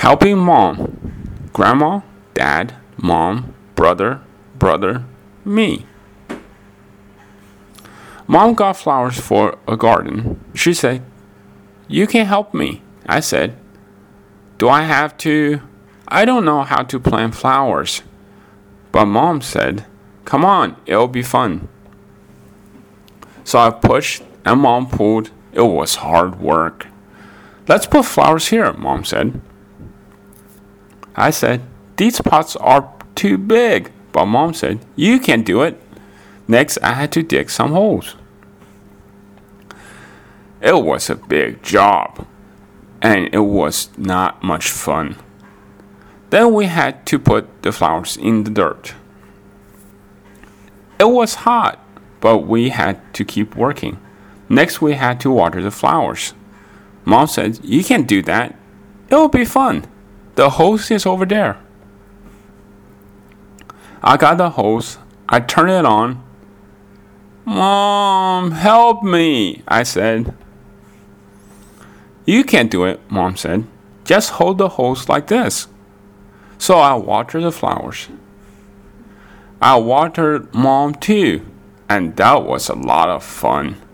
Helping mom. Grandma, dad, mom, brother, me. Mom got flowers for a garden. She said, "You can help me." I said, "Do I have to?" I don't know how to plant flowers. But Mom said, "Come on, it'll be fun." So I pushed and Mom pulled. It was hard work. "Let's put flowers here," Mom said. I said, "These pots are too big." But Mom said, "You can do it." Next, I had to dig some holes. It was a big job, and it was not much fun. Then we had to put the flowers in the dirt. It was hot, but we had to keep working. Next, we had to water the flowers. Mom said, "You can't do that. It'll be fun. The hose is over there." I got the hose. I turned it on. "Mom, help me," I said. "You can't do it," Mom said. "Just hold the hose like this." So I watered the flowers. I watered Mom too, and that was a lot of fun.